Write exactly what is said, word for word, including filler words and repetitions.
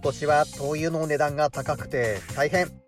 年は灯油の値段が高くて大変。